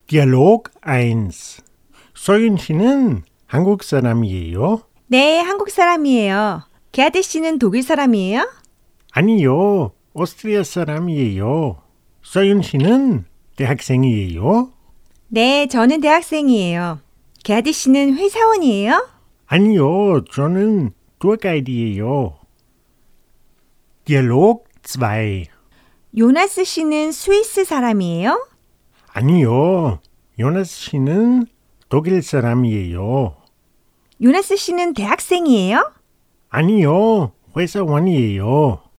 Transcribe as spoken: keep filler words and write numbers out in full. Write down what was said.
Dialog eins. 서윤 씨는 한국 사람이에요? 네, 한국 사람이에요. 게하드 씨는 독일 사람이에요? 아니요, 오스트리아 사람이에요. 서윤 씨는 대학생이에요? 네, 저는 대학생이에요. 게하드 씨는 회사원이에요? 아니요, 저는 투어가이드예요. Dialog zwei. 요나스 씨는 스위스 사람이에요? 아니요, 요나스 씨는 독일 사람이에요. 요나스 씨는 대학생이에요? 아니요, 회사원이에요.